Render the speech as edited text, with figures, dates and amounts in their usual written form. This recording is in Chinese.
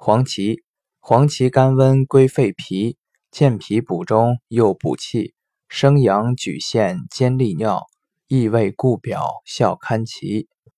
黄芪，黄芪甘温归肺脾，健脾补中又补气，生阳举陷兼利尿，益胃固表效堪奇。